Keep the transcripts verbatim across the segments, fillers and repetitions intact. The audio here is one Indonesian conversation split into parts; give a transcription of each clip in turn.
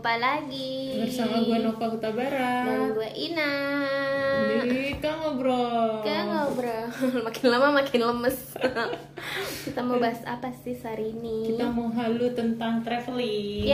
jumpa lagi bersama gue Nova Hutabara dan gue Ina di Kang Ngobrol. Kang Ngobrol. Makin lama makin lemes. Kita mau bahas apa sih hari ini? Kita mau halu tentang traveling.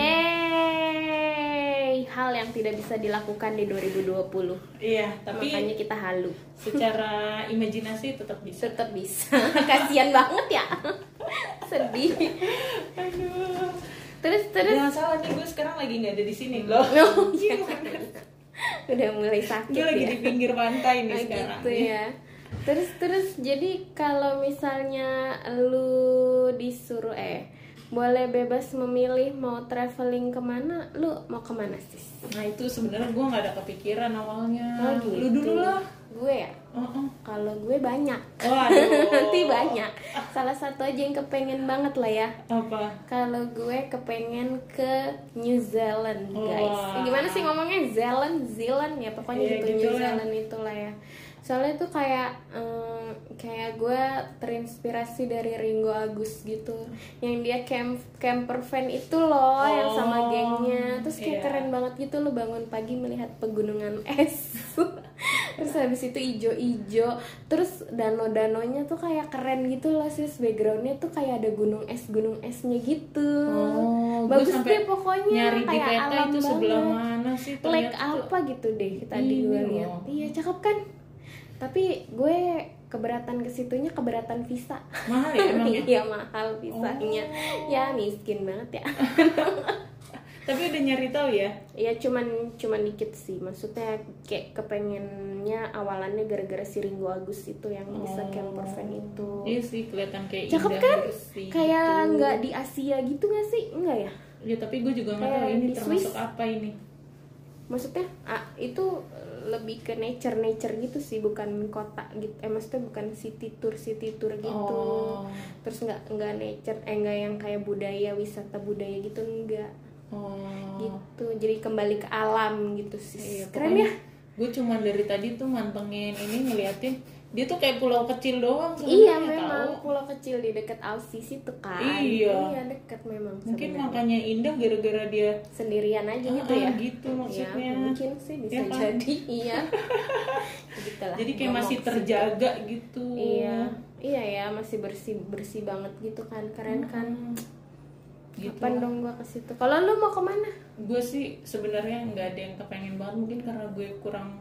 Yeay, hal yang tidak bisa dilakukan di dua ribu dua puluh. Iya, tapi makanya kita halu. Secara imajinasi tetap bisa. Tetap bisa. Kasian banget ya. Sedih. Aduh. Terus terus. Jangan salah nih, gue sekarang lagi nggak ada di sini loh. Oh, iya. Udah mulai sakit. Gue lagi ya? di pinggir pantai nih nah, sekarang. Gitu ya. Terus terus jadi kalau misalnya lu disuruh eh boleh bebas memilih mau traveling kemana, lu mau kemana sih? Nah itu sebenarnya gue nggak ada kepikiran awalnya. Oh, gitu. Lu dulu lah. Gue ya. Uh-uh. Kalau gue banyak. Waduh. Nanti banyak. Salah satu aja yang kepengen banget lah ya. Apa? Kalau gue kepengen ke New Zealand, guys. Wah. Gimana sih ngomongnya? Zealand, Zealand ya, pokoknya Iya, gitu, gitu New lah. Zealand itulah ya. Soalnya tuh kayak em, kayak gue terinspirasi dari Ringo Agus gitu, yang dia camp camper van itu loh, yang sama Oh, gengnya. Terus kayak iya. keren banget gitu, lo bangun pagi melihat pegunungan es. Terus habis itu ijo-ijo, terus danau-danaunya tuh kayak keren gitu loh sis, backgroundnya tuh kayak ada gunung es gunung esnya gitu. Oh, Bagus gue sampai deh pokoknya, nyari di kayak peta alam itu sebelah banget. mana sih? Lake Ternyata tuh- apa gitu deh tadi Ini gue loh. lihat. Iya cakep kan, tapi gue keberatan ke situnya, keberatan visa. Mahal ya emangnya? Iya mahal visanya. Oh. Ya miskin banget ya. Tapi udah nyari tahu ya? Ya cuman cuman dikit sih, maksudnya kayak kepengennya awalannya gara-gara si Ringo Agus itu yang bisa Oh. camper van itu. Iya sih, kelihatan kayak Cakep indah kan? bersih Kayak gitu. nggak di Asia gitu nggak sih? Enggak ya? Ya tapi gue juga nggak Kayak tahu ini di termasuk Swiss. apa ini. Maksudnya ah, itu lebih ke nature nature gitu sih, bukan kota gitu. Eh maksudnya bukan city tour city tour gitu. Oh. Terus nggak nggak nature, eh nggak yang kayak budaya wisata budaya gitu, enggak. Oh. Gitu. Jadi kembali ke alam gitu sih. Iya, Keren pokoknya ya? Gue cuman dari tadi tuh mantengin ini, ngeliatin dia tuh kayak pulau kecil doang Iya sebenarnya, memang tahu. pulau kecil di dekat Aussie situ kan. Iya. dekat memang. Mungkin sebenarnya. makanya indah gara-gara dia sendirian aja gitu Ah, ya. gitu maksudnya. Ya, mungkin sih bisa Ya kan? jadi. Iya. Gitulah, Jadi kayak ngomong masih ke situ. terjaga gitu. Iya. Iya ya, masih bersih bersih banget gitu kan. Keren kan. Gitu. Kapan dong gua ke situ? Kalau lu mau kemana? Gue sih sebenarnya nggak ada yang kepengen banget, mungkin karena gue kurang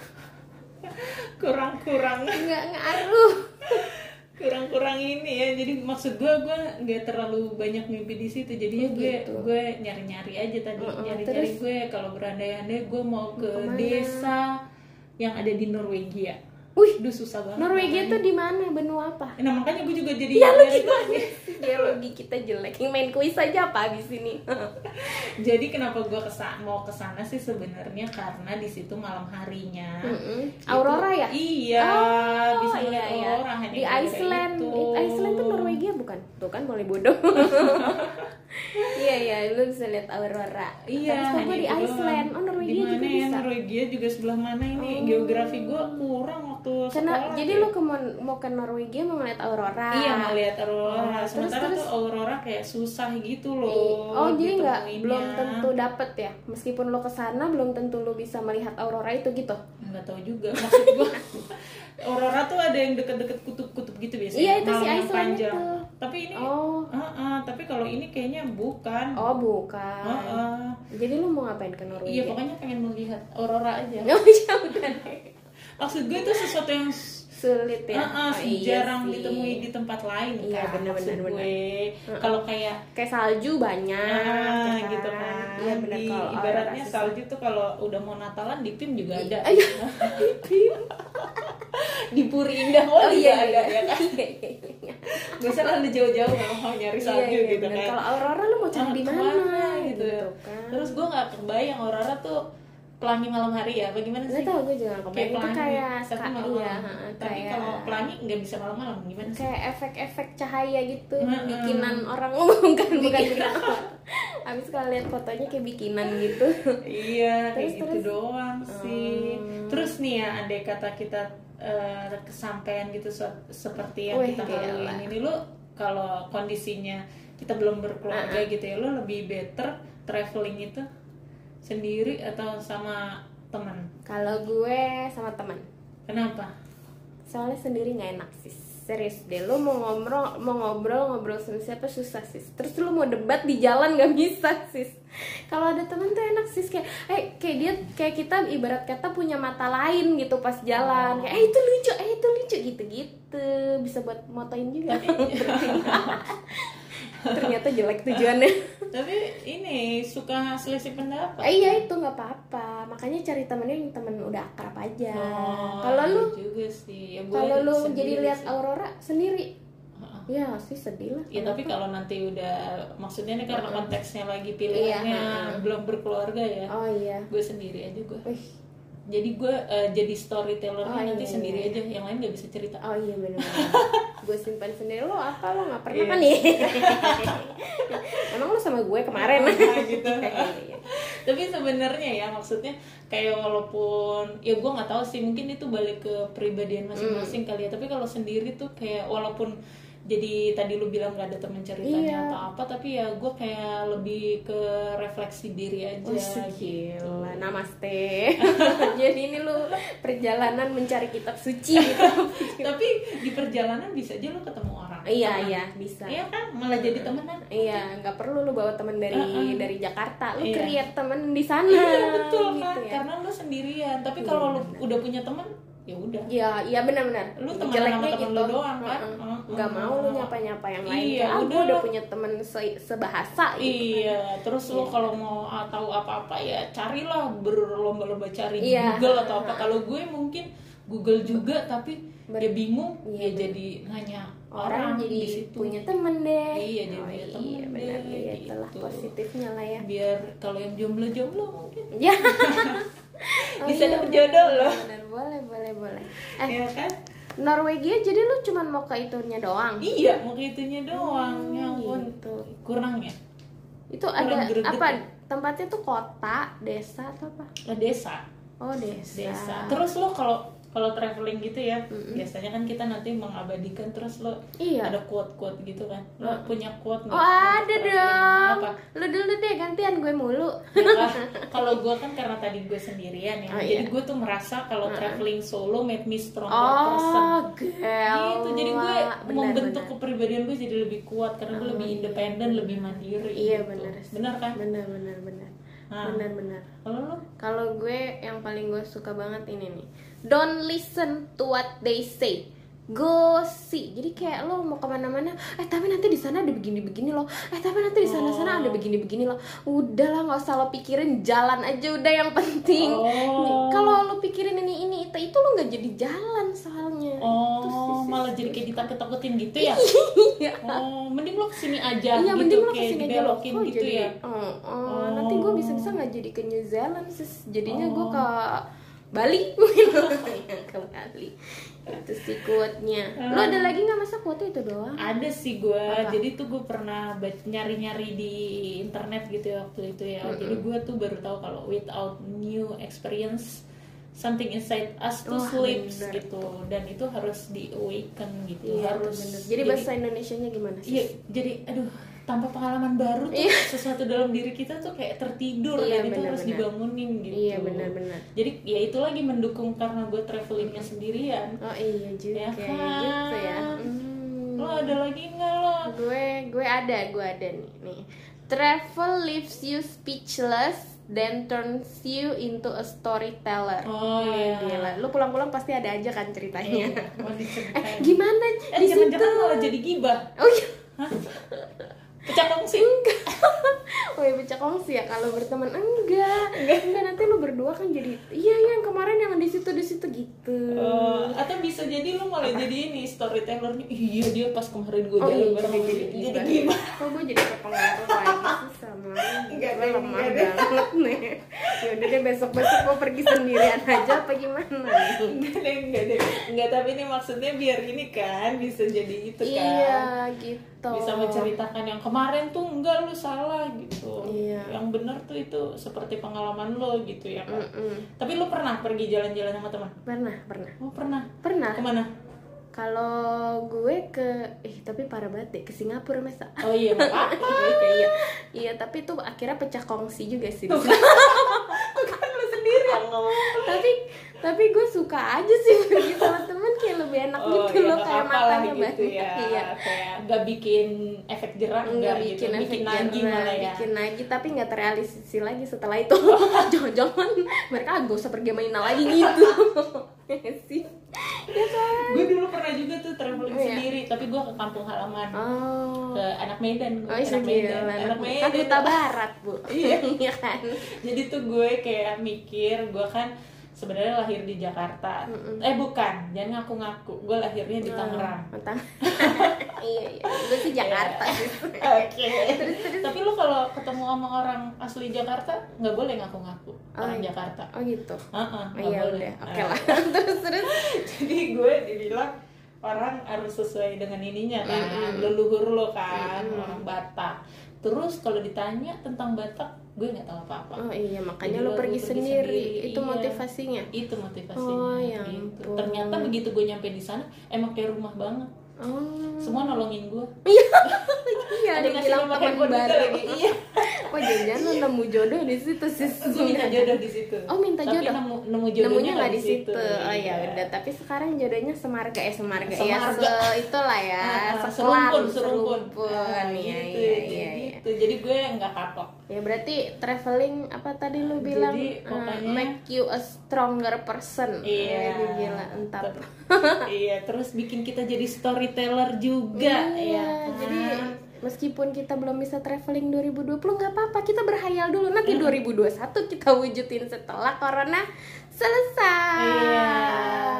kurang kurang Nggak ngaruh. kurang kurang ini ya. Jadi maksud gue gue nggak terlalu banyak mimpi di situ, jadinya Oh, gue gitu. gue nyari nyari aja tadi. Uh-uh, nyari nyari terus? gue kalau berandai-andai gue mau ke kemana? desa yang ada di Norwegia. Wih, Duh susah banget. Norwegia namanya. tuh di mana? Benua apa? Nah makanya gue juga jadi Ya lu nyari gimana tahu. sih? Geologi kita jelek. Yang main kuis aja apa di sini? Jadi kenapa gue kesana, mau kesana sih sebenarnya karena di situ malam harinya. Mm-mm. itu- Aurora ya? Iya, Oh, bisa iya, melihat iya. aurora hanya Di gara-gara Iceland. itu. It- Iceland tuh Norwegia bukan? Tuh kan boleh bodoh. Iya iya, lu bisa lihat aurora. Iya, Tapi hanya gue di itu doang. Iceland. Oh Norwegia Di juga mana ya? bisa. Norwegia juga sebelah mana ini? Oh. Geografi gue kurang waktu Karena sekolah. jadi ya. lu ke mau, mau ke Norwegia mau ngeliat aurora. Iya mau lihat aurora. Oh, terus- Sementara terus? tuh aurora kayak susah gitu I- loh. Oh jadi nggak ditemuinnya. belum tentu dapet ya, meskipun lo kesana belum tentu lo bisa melihat aurora itu gitu. Nggak tahu juga maksud gue. Aurora tuh ada yang deket-deket kutub-kutub gitu biasanya. Iya, itu si malam yang Iceland panjang. itu. Tapi ini Oh Ah, ah, tapi kalau ini kayaknya bukan. oh bukan. Ah, ah. Jadi lo mau ngapain ke Norwegia? Iya, pokoknya pengen melihat aurora aja. Oh iya udah deh. Maksud gue itu sesuatu yang Sulit ya. ah, ah, Oh, iya jarang sih. ditemui di tempat lain Iya, kan. benar, Maksud benar, gue. benar. Kalau kayak Kayak salju banyak, ah, ya gitu kan. Iya benar Di- kalau ibaratnya aurora salju tuh kalau udah mau Natalan di P I M juga ada. Iya. Di Puri Indah oh, Oh iya ada iya. ya kan. Iya, iya, iya. Gak usah lah lu jauh-jauh kalau mau nyari Iya, salju iya, gitu benar. kan. Kalau aurora lo mau cari Ah, di mana? kemana gitu. kan. Terus gue nggak kebayang aurora tuh pelangi malam hari ya, bagaimana sih? Nggak tahu gue juga nggak kebayang. Itu pelangi, kayak tapi ska- malam-malam. iya, ha-ha, Tapi kayak- kalau pelangi nggak bisa malam-malam, gimana sih? kayak efek-efek cahaya gitu, Mm-mm. bikinan orang oh, bukan bukan bikinan orang. Abis kalau lihat fotonya kayak bikinan gitu. Iya, kayak Terus, gitu terus? doang sih. Hmm. Terus nih ya, andai kata kita eh, kesampaian gitu se- seperti yang Wih, kita gila. laluin ini, lu kalau kondisinya kita belum berkeluarga Uh-uh. gitu ya, lu lebih better traveling itu Sendiri atau sama teman? Kalau gue sama teman. Kenapa? Soalnya sendiri nggak enak sis. Serius deh, lu mau ngobrol mau ngobrol ngobrol sama siapa susah sis. Terus lu mau debat di jalan nggak bisa sis. Kalau ada temen tuh enak sis, kayak eh kayak dia kayak kita ibarat kata punya mata lain gitu pas jalan. Kayak eh itu lucu, eh itu lucu gitu-gitu. Bisa buat motoin juga. Ternyata jelek tujuannya. Tapi ini suka selisih pendapat. Eh, iya itu nggak apa-apa. Makanya cari temennya yang temen udah akrab aja. Oh, Kalau lu juga sih. Ya, gue kalau lu sendiri jadi lihat sih. Aurora sendiri, Heeh. ya sih sedih lah. Ya tapi Kenapa? kalau nanti udah, maksudnya nih karena Heeh. konteksnya lagi pilihannya Iya, heeh. belum berkeluarga ya, Oh iya. gue sendiri aja gue. Wih. Jadi gue uh, jadi storytellernya Oh, nanti iya, sendiri iya. aja, yang lain nggak bisa cerita. Oh iya benar. Gue simpan sendiri. Lo apa lo nggak pernah Iya. kan nih? Emang lo sama gue kemarin? Ah, gitu. Iya, iya. Tapi sebenarnya ya maksudnya kayak walaupun ya gue nggak tahu sih, mungkin itu balik ke pribadian masing-masing kali ya. Tapi kalau sendiri tuh kayak walaupun jadi tadi lu bilang nggak ada temen ceritanya Iya. atau apa, tapi ya gue kayak lebih ke refleksi diri aja Oh, gitu. gila, namaste. Jadi ini lo perjalanan mencari kitab suci gitu. Tapi di perjalanan bisa aja lu ketemu orang. Iya Teman. iya bisa. Iya kan, malah jadi temenan. Iya, nggak perlu lu bawa temen dari Uh-uh. dari Jakarta, lu Iya. create temen di sana. Iya betul kan, gitu ya. karena lu sendirian. Tapi Iya, kalau lu benar. udah punya temen, ya udah. Iya, iya benar-benar. Lu temenan sama temen lu doang kan? Heeh. Heeh. Nggak mau lu nyapa-nyapa yang lain. Iya, Kayak, ah, udah gua udah lah. punya temen se- sebahasa gitu. Iya, terus lu Iya. kalau mau ah, tahu apa-apa ya carilah, berlomba-lomba cari di Iya. Google atau apa. Kalau gue mungkin Google juga, tapi Ber- ya bingung, Iya, ya bener. jadi nanya Orang, orang jadi di situ. punya temen deh. Iya, jadi Oh, punya iya, temen benar. deh, Iya, itulah gitu. positifnya lah ya. Biar kalau yang jomblo-jomblo mungkin Ya. Oh, bisa iya, dapet jodoh benar, loh. benar. Boleh, boleh, boleh. Eh, ya kan? Norwegia jadi lu cuman mau ke itunya doang? Iya, mau ke itunya doang. Hmm, Ya ampun, gitu. kurang ya? Itu Kurang ada greget apa? ya? Tempatnya tuh kota, desa atau apa? Nah, desa. Oh, desa. Desa. Terus lo kalau kalau traveling gitu ya, Mm-mm. biasanya kan kita nanti mengabadikan, terus lo Iya. ada quote-quote gitu kan. Lo punya quote nggak? Oh, ada Untuk traveling? dong. Apa? Lu dulu deh, gantian gue mulu. Ya kan? Kalau gue kan karena tadi gue sendirian ya, Oh, jadi iya. gue tuh merasa kalau Uh-uh. traveling solo made me stronger Oh, person. gel. Gitu, jadi gue Benar, membentuk benar. kepribadian gue jadi lebih kuat karena gue Oh, lebih iya, independen, lebih mandiri. Iya, gitu. benar. sih. Benar kan? Benar, benar, benar. Nah. Benar, benar. Kalau lo? Kalau gue yang paling gue suka banget ini nih. Don't listen to what they say. Go see. Jadi kayak lo mau kemana-mana, eh tapi nanti di sana ada begini-begini loh. Eh tapi nanti di sana-sana ada begini-begini loh. Udahlah, nggak usah lo pikirin, jalan aja udah yang penting. Oh. Kalau lo pikirin ini ini itu itu lo nggak jadi jalan soalnya. Itu sih, Oh, sih, malah sih. jadi kayak ditakut-takutin gitu ya? Iya. Oh, mending lo kesini aja Iya, gitu, mending lo kayak kesini aja lo dibelokin kok gitu jadi, ya? oh, oh, Oh. nanti gue bisa-bisa nggak jadi ke New Zealand sis, jadinya gue Oh. ke Bali mungkin. Ke Bali itu sih quote-nya. Lo ada lagi nggak, masa quote itu doang? Ada sih gue, Apa? jadi tuh gue pernah bac- nyari-nyari di internet gitu ya waktu itu ya. Jadi gue tuh baru tahu kalau without new experience something inside us to Wah, sleeps bener. gitu, dan itu harus di awaken gitu, Iya, harus. bener. Jadi bahasa Indonesianya gimana sih? Iya, jadi aduh, tanpa pengalaman baru tuh Iya. sesuatu dalam diri kita tuh kayak tertidur, Iya, dan itu harus benar-benar. dibangunin gitu. Iya, benar-benar. Jadi ya itu lagi mendukung karena gue travelingnya sendirian. Oh iya juga Ya kayak kan? gitu ya. Hmm. Lo ada lagi nggak lo? Gue gue ada, gue ada nih. Nih. Travel leaves you speechless then turns you into a storyteller. Oh, iya. Gila. Lu pulang-pulang pasti ada aja kan ceritanya. Iya, mau Eh, diceritain. gimana Eh, di situ? jangan-jangan malah jadi gibah. Oh iya. Hah? Pecah kongsi. Oh ya pecah kongsi ya kalau berteman enggak. Enggak, nanti lu berdua kan jadi iya iya yang kemarin yang di situ di situ gitu. Eh, atau bisa jadi lo malah jadi ini storytellernya. Iya, dia pas kemarin gue Oh jalan iya, bareng jadi jadi, jadi jadi gibah. gibah. Oh gue jadi terpengaruh lagi sih sama lu. Enggak Gue deh, lemah enggak deh. banget nih. Yaudah deh besok-besok gue pergi sendirian aja apa gimana nih? Enggak deh, enggak deh. Enggak, tapi ini maksudnya biar ini kan bisa jadi itu kan. Iya gitu. Bisa menceritakan yang kemarin tuh enggak, lu salah gitu. Iya. Yang benar tuh itu seperti pengalaman lo gitu ya kan. Mm-mm. Tapi lu pernah pergi jalan-jalan sama teman? Pernah pernah Oh, pernah. pernah. Kemana? Kalau gue ke eh tapi parah banget deh, ke Singapura masa. Oh iya, nggak apa-apa. Iya, iya, iya, tapi itu akhirnya pecah kongsi juga sih. Tuh kan. tapi tapi gue suka aja sih pergi sama temen, kayak lebih enak Oh, gitu ya, loh, nggak kayak apa-apa lah matanya gitu banyak. ya. Iya. Kayak nggak bikin efek jerah, Nggak nggak bikin gitu. efek bikin nagih jerah, malah ya. bikin lagi, tapi nggak terrealisasi lagi setelah itu. Jangan-jangan mereka gak usah pergi main lagi gitu. Sih. Ya kan. Gue dulu pernah juga tuh traveling Oh, iya. sendiri, tapi gue ke kampung halaman. Oh. Ke anak Medan, gue Oh, anak iya, Medan, gila. anak Medan. Kan Huta Barat, Bu. Iya. Iya kan. Jadi tuh gue kayak mikir, gue kan sebenarnya lahir di Jakarta. Mm-mm. Eh bukan, jangan ngaku-ngaku. Gue lahirnya di Tangerang. Oh, Tang- iya, iya. Gue sih Jakarta sih. Oke. Terus terus. Tapi lu kalau ketemu sama orang asli Jakarta nggak boleh ngaku-ngaku Oh, orang iya. Jakarta. Oh gitu. Heeh, Oh, nggak iya boleh. udah. Oke Nah, lah. Terus terus. Jadi gue dibilang orang harus sesuai dengan ininya kan, Mm-mm. leluhur lo kan, Mm-mm. orang Batak. Terus kalau ditanya tentang Batak, gue nggak tahu apa-apa. Oh iya, makanya Jadi lo lo pergi pergi sendiri. sendiri, Itu iya. motivasinya. Itu motivasinya. Oh, ya gitu. ampun. Ternyata begitu gue nyampe di sana, emang kayak rumah banget. Oh. Semua nolongin gue. Iya, Ada dia ngasih bilang nomor teman handphone gitu baru. lagi. Iya. Oh, jangan lo nemu jodoh di situ sih. Gue minta jodoh di situ. Oh, minta Tapi jodoh. nemu nemu jodohnya Nemunya nggak nggak di situ. Oh Iya. ya udah, tapi sekarang jodohnya semarga eh semarga, ya Semarga. se itulah ya, Ah, ah, sekelar, serumpun, serumpun. serumpun. Ah, Iya, gitu, iya, jadi iya, iya. gitu. Jadi gue nggak kapok. Ya berarti traveling apa tadi lu bilang, Jadi, eh, pokoknya- make you a stronger person. Iya. Wih, gila, entah. Ter- iya, terus bikin kita jadi storyteller juga Iya, ya. jadi meskipun kita belum bisa traveling dua ribu dua puluh nggak apa-apa, kita berhayal dulu, nanti dua ribu dua puluh satu kita wujudin setelah corona selesai. Iya.